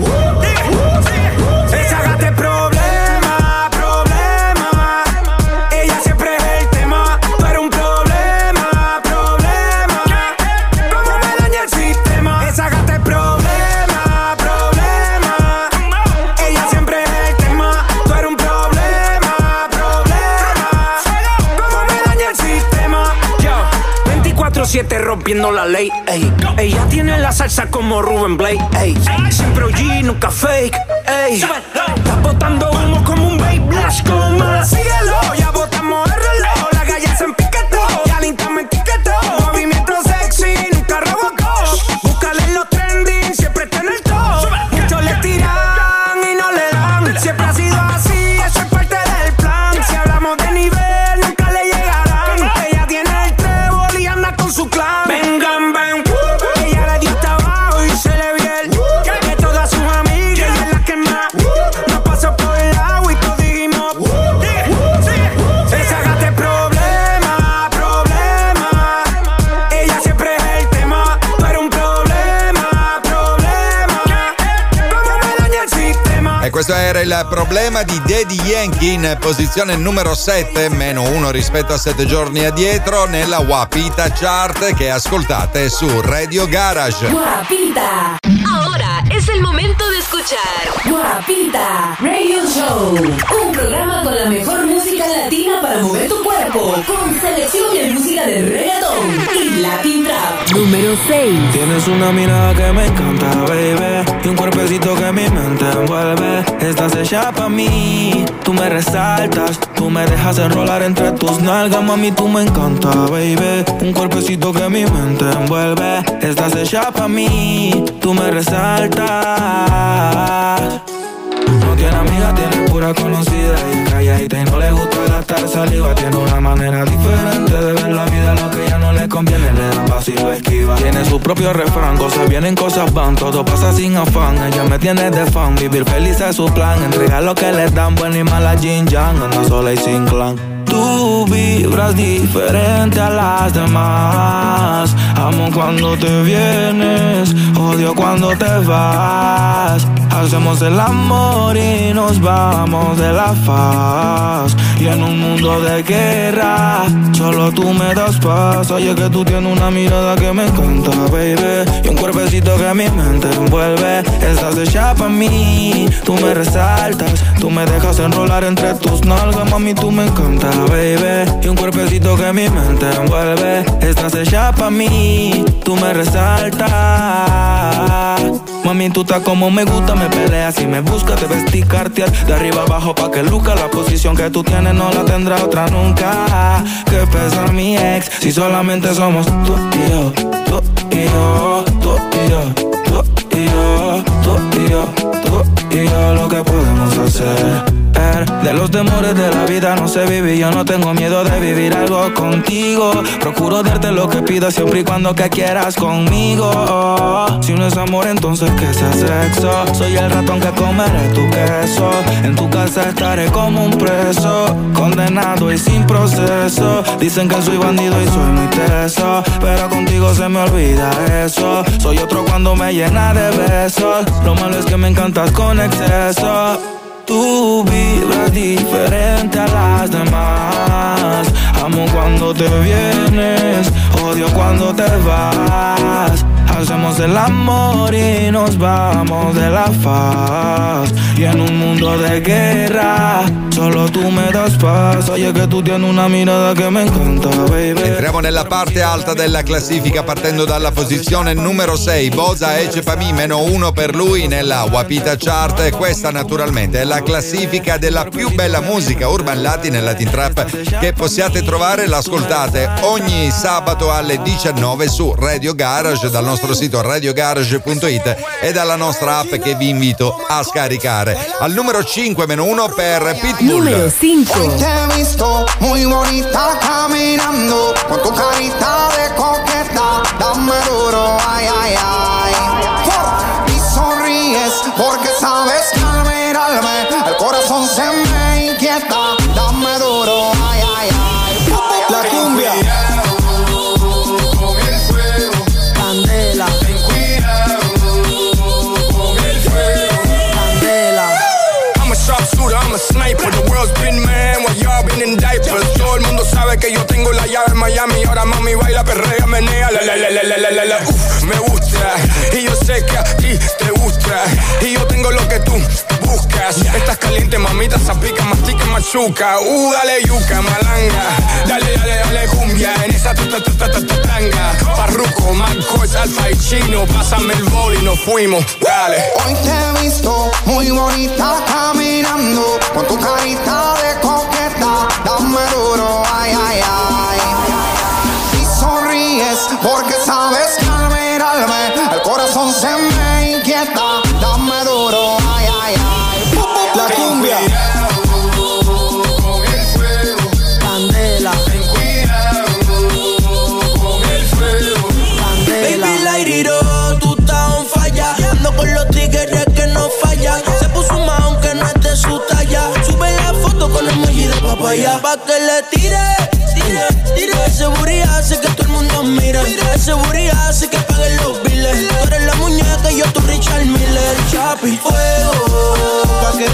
J: esa gata es problema, problema. Ella siempre es el tema. Tú eres un problema, problema. ¿Cómo me daña el sistema? Esa gata es problema, problema. Ella siempre es el tema. Tú eres un problema, problema. ¿Cómo me daña el sistema? Yo, veinticuatro siete rompiendo la ley, ey. Ella tiene la salsa como Ruben Blake, ey. Siempre O G, nunca fake, ey. Está botando humo como un babe blast, como mala, síguelo. Ya botamos el reloj, la galla se empiquetó. Ya lentamente etiquetó. Movimiento sexy, nunca robocó.
C: questo era il problema di Daddy Yankee in posizione numero sette, meno uno rispetto a sette giorni addietro nella Wapita Chart che ascoltate su Radio Garage.
B: Guapita. Ahora es el momento de escuchar Guapita Radio Show, un programa con la mejor música latina para mover tu cuerpo, con selección de música de reggaetón y Latin Trap.
A: Número seis.
I: Tienes una mirada que me encanta, baby, y un cuerpecito que mi mente envuelve. Estás hecha pa' mí, tú me resaltas, tú me dejas enrolar entre tus nalgas, mami, tú me encanta, baby. Un cuerpecito que mi mente envuelve. Estás hecha pa' mí, tú me resaltas. No tiene amiga, tiene pura conocida y calladita y no le gusta gastar saliva. Tiene una manera diferente de ver la vida, lo que ella no le conviene le da paso y lo esquiva. Tiene su propio refrán, cosas vienen, cosas van, todo pasa sin afán. Ella me tiene de fan, vivir feliz es su plan. Entregar lo que le dan, buena y mala Jin Yang, anda sola y sin clan. Tú vibras diferente a las demás. Amo cuando te vienes, odio cuando te vas. Hacemos el amor y nos vamos de la faz. Y en un mundo de guerra, solo tú me das paz. Oye que tú tienes una mirada que me encanta, baby, y un cuerpecito que mi mente envuelve. Estás hecha pa' mí, tú me resaltas, tú me dejas enrolar entre tus nalgas, mami, tú me encanta, baby, y un cuerpecito que mi mente envuelve. Estás hecha pa' mí, tú me resaltas. Mami, tú estás como me gusta, me peleas y me buscas, te vestí Cartier de arriba abajo pa' que luzca. La posición que tú tienes no la tendrá otra nunca. Que pesa mi ex, si solamente somos tú y yo, tú y yo, tú y yo, tú y yo, tú y yo, tú y yo, lo que podemos hacer. De los temores de la vida no sé vivir, yo no tengo miedo de vivir algo contigo. Procuro darte lo que pidas siempre y cuando que quieras conmigo. Si no es amor entonces que sea sexo. Soy el ratón que comeré tu queso. En tu casa estaré como un preso, condenado y sin proceso. Dicen que soy bandido y soy muy teso, pero contigo se me olvida eso. Soy otro cuando me llena de besos. Lo malo es que me encantas con exceso. Tú vibras diferente a las demás. Amo cuando te vienes, odio cuando te vas. Hacemos el amor y nos vamos de la faz. Y en un mundo de guerra, solo tú me das paz. Oye che tu tienes una mirada che mi encanta, baby.
C: Entriamo nella parte alta della classifica partendo dalla posizione numero sei. Boza Ece Pami, meno uno per lui nella Wapita Chart. E questa naturalmente è la classifica della più bella musica urban latin e latin trap che possiate trovare. L'ascoltate ogni sabato alle diciannove su Radio Garage, dal nostro sito radio garage punto it e dalla nostra app che vi invito a scaricare. Al numero cinque, meno uno per Pitbull.
A: Numero cinque.
L: Hoy te he visto muy bonita caminando, con tu carita de coqueta, dame duro, ay, ay, ay. Y sonríes porque sabes que al mirarme el corazón se me inquieta, dame duro, ay, ay, ay. La cumbia.
M: I'm a sniper, the world's been man while y'all been in diapers. Todo el mundo sabe que yo tengo la llave en Miami. Ahora mami baila, perrea, menea, la la la la la la la la. Uf, me gusta y yo sé que a ti te gusta y yo tengo lo que tú buscas. Estás caliente, mamita, zapica, mastica, machuca. Uh, dale yuca, malanga, dale, dale, dale cumbia en esa ta ta ta ta ta tanga. Farruko, McCoy, Alfa y Chino, pásame el bol y nos fuimos, dale.
L: Hoy te he visto muy bonita caminando, con tu carita de coqueta, dame duro, ay, ay, ay. Y sonríes porque sabes que al mirarme el corazón se me inquieta, dame duro, ay, ay, ay. La cumbia.
M: Con el fuego,
L: Candela.
M: ten cuidado con el fuego.
L: Candela.
I: Baby, la iriro, tú estás on falla. Ando con los tigres que no fallan. Se puso más aunque no es de su talla. Sube la foto con emoji de papaya. Pa' que le tire, tire, tire. Ese booty hace que todo el mundo mire. Ese booty hace que paguen los biles. Tú eres la muñeca y yo tu Richard Miller. Chapi, fuego, pa' que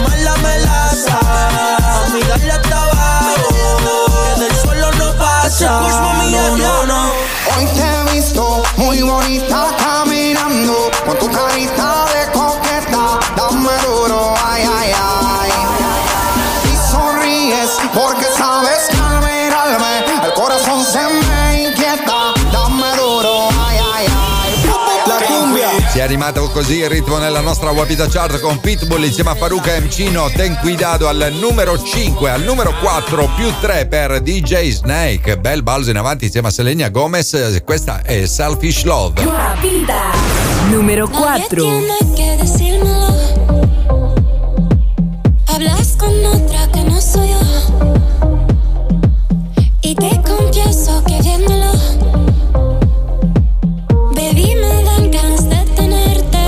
L: Hoy te he visto muy bonita caminando con tu carita de coqueta. Dame duro, ay, ay, ay. Y sonríes porque sabes que al mirarme el corazón se me inquieta. Dame duro, ay, ay, ay. La cumbia.
C: Si è arrivato così il ritmo nella nostra Wapita Chart con Pitbull insieme a Farruko e Mcino. Ten Cuidado al numero cinque, al numero quattro più tre per D J Snake. Bel balzo in avanti insieme a Selena Gomez. Questa è Selfish Love.
A: Wapita número cuatro.
N: Hablas con otra que no soy yo y te confieso que viéndolo, baby, me dan ganas de tenerte.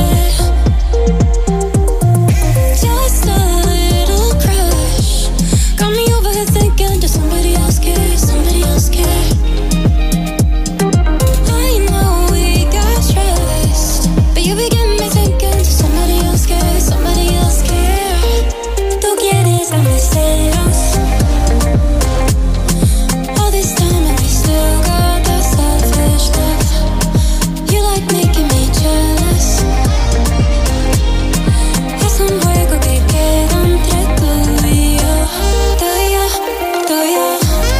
N: Just a little crush got me over here thinking that somebody else cares, somebody else cares. I know we got trust, but you begin me thinking that somebody else cares, somebody else cares. Tú quieres darme celos. All this time and we still got that selfish stuff. You like making me jealous. Es un juego que queda entre tú y yo, tú y yo, tú y yo.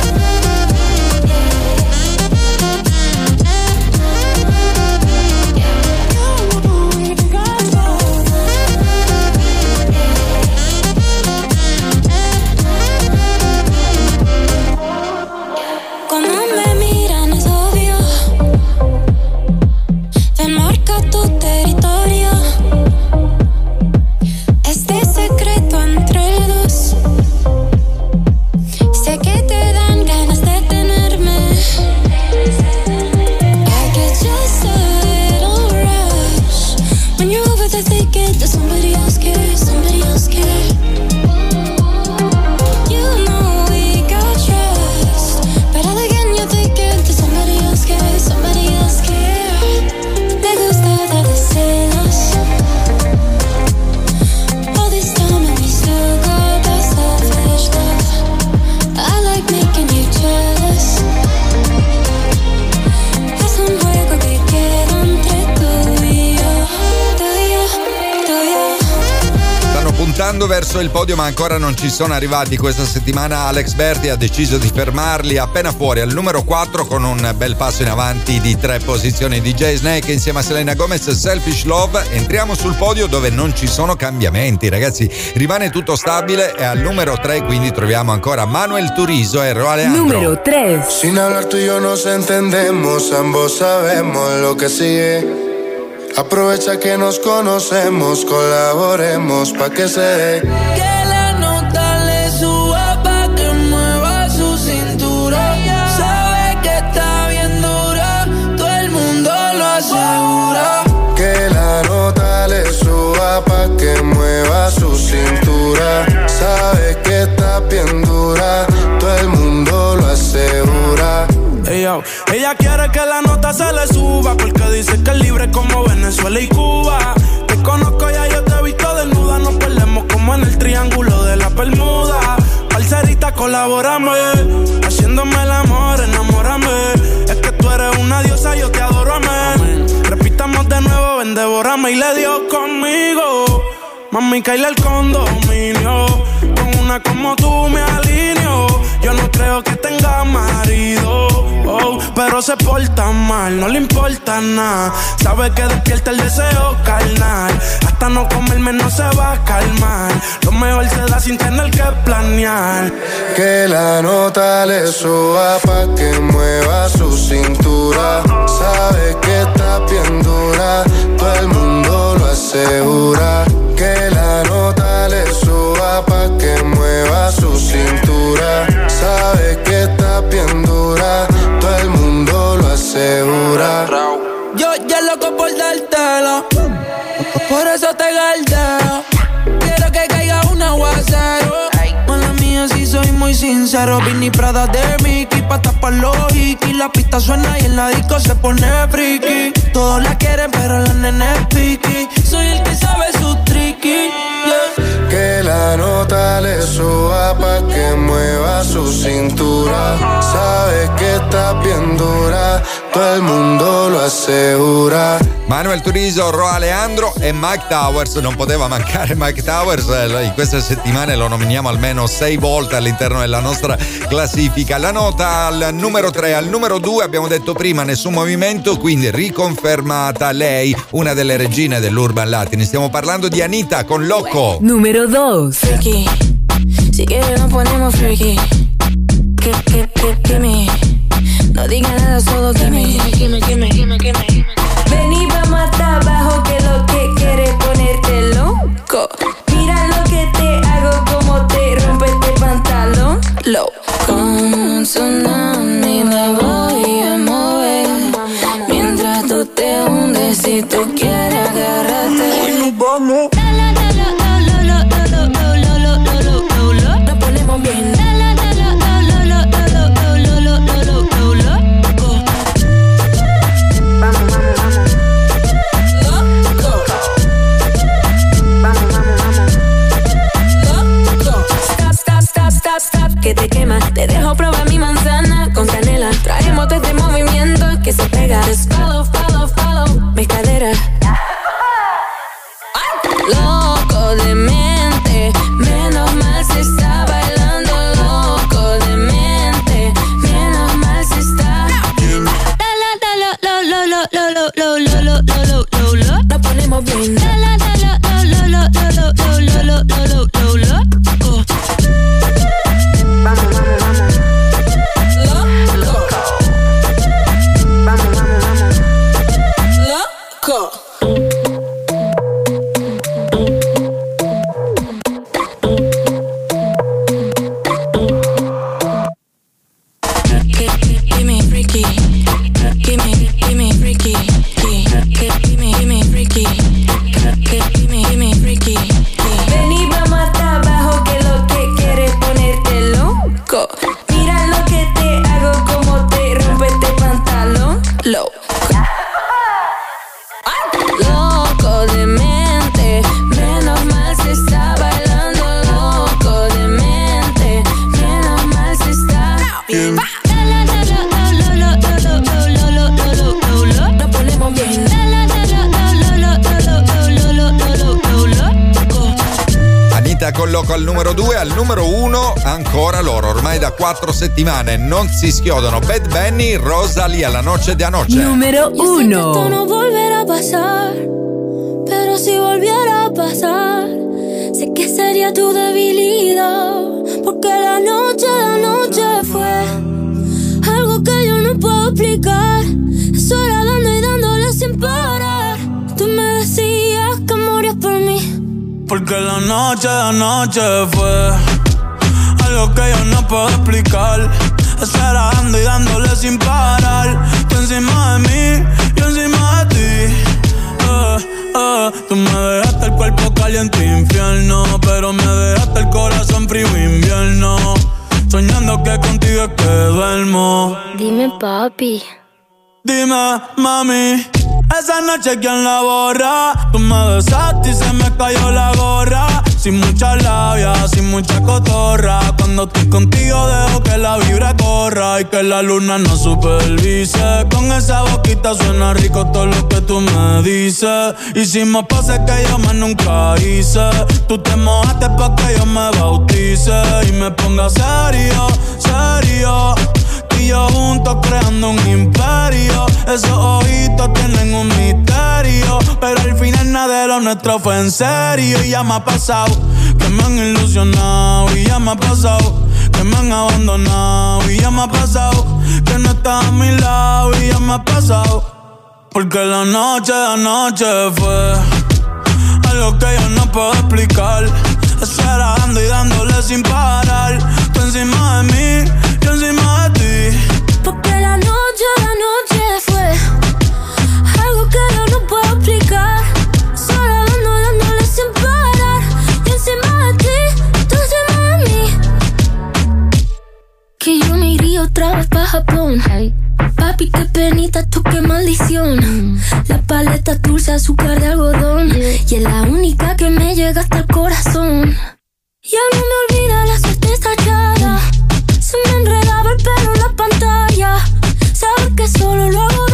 N: Como me miran es obvio, ven marca tu territorio. Este secreto entre dos, sé que te dan ganas de tenerme. I get just a little rush when you're over there thinking that somebody else cares, somebody else cares. You know we got trust, but all again you're thinking that somebody else cares, somebody else cares. Te gusta darle celos. All this time and we still got that selfish stuff. I like making you jealous. Es un juego que queda entre tú y yo, tú y yo, tú y yo.
C: Stanno puntando verso il podio ma ancora non ci sono arrivati. Questa settimana Alex Berti ha deciso di fermarli appena fuori al numero quattro con un bel passo in avanti di tre posizioni. D J Snake insieme a Selena Gomez, Selfish Love. Entriamo sul podio dove non ci sono cambiamenti, ragazzi, rimane tutto stabile e al numero tre quindi troviamo ancora Manuel Turizo e Ro Alejandro.
A: Número tres.
G: Sin hablar tú y yo nos entendemos, ambos sabemos lo que sigue. Aprovecha que nos conocemos, colaboremos pa' que se dé.
I: Que la nota le suba pa' que mueva su cintura. Sabe que está bien dura, todo el mundo lo asegura.
G: Que la nota le suba pa' que mueva su cintura. Sabe que está bien dura, todo el mundo lo asegura.
J: Ey, yo. Ella quiere que la nota se le suba porque dice que es libre como Venezuela y Cuba. Te conozco ya, yo te he visto desnuda. Nos perdemos como en el triángulo de la Bermuda. Parcerita, colaborame, haciéndome el amor, enamórame. Es que tú eres una diosa, yo te adoro, amén. Repitamos de nuevo, ven, devórame y le dio conmigo. Mami, caíle el condominio. Con una como tú me alineo. Yo no creo que tenga marido, oh, pero se porta mal, no le importa nada. Sabe que despierta el deseo carnal. Hasta no comerme no se va a calmar. Lo mejor se da sin tener que planear.
G: Que la nota le suba pa' que mueva su cintura. Sabe que está bien dura, todo el mundo lo asegura. Que la nota le suba pa' que mueva su cintura. Sabe que está bien dura, todo el mundo lo asegura.
I: Yo ya loco por dártelo, por eso te galdeo. Quiero que caiga un aguacero. Mala mía, si soy muy sincero. Vinny Prada de Mickey, pa' tapar los hikis. La pista suena y en la disco se pone friki. Todos la quieren, pero la nena es piqui. Soy el que sabe su tricky, yeah.
G: Que la nota le suba pa' que mueva su cintura. Sabe que está bien dura, todo el mundo lo asegura.
C: Manuel Turizo, Roa Leandro e Mike Towers. Non poteva mancare Mike Towers, in queste settimane lo nominiamo almeno sei volte all'interno della nostra classifica. La nota al numero tre, al numero due abbiamo detto prima nessun movimento, quindi riconfermata lei, una delle regine dell'Urban Latin. Stiamo parlando di Anita con Loco.
A: Numero dos.
O: Freaky, si quieres nos ponemos freaky. Que, que, que, que me, no diga nada, solo que me, que me, que me, que me, que me.
K: Ven y vamos hasta abajo, que lo que quieres ponerte loco. Mira lo que te hago, como te rompe este pantalón. Loco.
O: Con tsunami me voy a mover, mientras tú te hundes, si tú quieres agárrate.
G: Hoy nos vamos.
O: Nos ponemos bien.
K: Que te quema, te dejo probar mi manzana con canela. Traemos todo este movimiento que se pega. Just follow, follow, follow mis caderas.
O: Loco de mente, menos mal se está bailando. Loco de mente, menos mal se está. Nos ponemos bien.
C: Al numero due, al numero uno ancora loro, ormai da quattro settimane non si schiodono. Bad Bunny, Rosalía, La Noche de Anoche.
A: Numero uno.
N: Esto no volverá a pasar, pero si volviera a pasar, sé que sería tu debilidad, porque la noche de anoche fue algo que yo no puedo explicar. Eso era dando y dándole sin parar. Tú me decías que morías por mí,
I: porque la noche de anoche fue algo que yo no puedo explicar. Eso era dando y dándole sin parar. Tú encima de mí, yo encima de ti. Eh, eh, tú me dejaste el cuerpo caliente infierno, pero me dejaste el corazón frío invierno. Soñando que contigo es que duermo.
N: Dime, papi.
I: Dime, mami, esa noche quién la borra. Tú me besaste y se me cayó la gorra. Sin mucha labia, sin mucha cotorra. Cuando estoy contigo dejo que la vibra corra y que la luna no supervise. Con esa boquita suena rico todo lo que tú me dices. Hicimos pases que yo más nunca hice. Tú te mojaste pa' que yo me bautice y me ponga serio, serio. Y yo juntos creando un imperio. Esos ojitos tienen un misterio, pero al final nada de lo nuestro fue en serio. Y ya me ha pasado que me han ilusionado. Y ya me ha pasado que me han abandonado. Y ya me ha pasado que no estás a mi lado. Y ya me ha pasado porque la noche de anoche fue algo que yo no puedo explicar. Eso era dando y dándole sin parar. Tú encima de mí, yo encima de ti.
N: Porque la noche de anoche fue algo que yo no puedo explicar. Solo dando, dándole sin parar. Y encima de ti, tú encima de mí. Que yo me iría otra vez pa' Japón. Hey. Papi, qué penita, tú qué maldición. Mm. La paleta dulce, azúcar de algodón. Yeah. Y es la única que me llega hasta el corazón. Ya no me olvida la suerte estallada. Se me enredaba el pelo en la pantalla. Saber que solo lo hago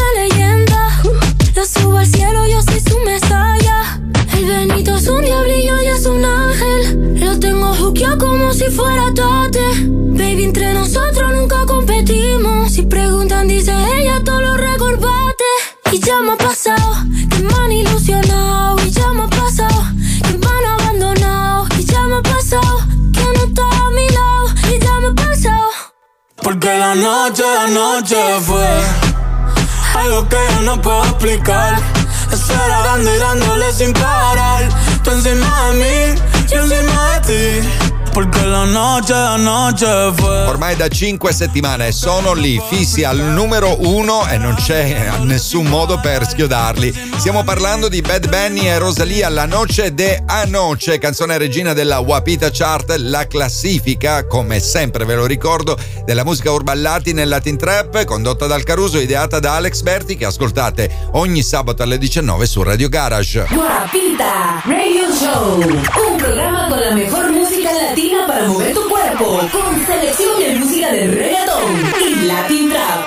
I: la noche, la noche fue algo que yo no puedo explicar. Eso era dando y dándole sin parar. Tú encima de mí, yo encima de ti. Porque la noche, la noche fue.
C: Ormai da cinque settimane sono lì fissi al numero uno e non c'è nessun modo per schiodarli. Stiamo parlando di Bad Bunny e Rosalía, La Noche de Anoche, canzone regina della Wapita Chart, la classifica, come sempre ve lo ricordo, della musica urban latin e latin trap, condotta dal Caruso, ideata da Alex Berti, che ascoltate ogni sabato alle diciannove su Radio Garage.
B: Wapita Radio Show, un programa con la mejor música latina para mover tu cuerpo, con selección de música de reggaeton y latin trap.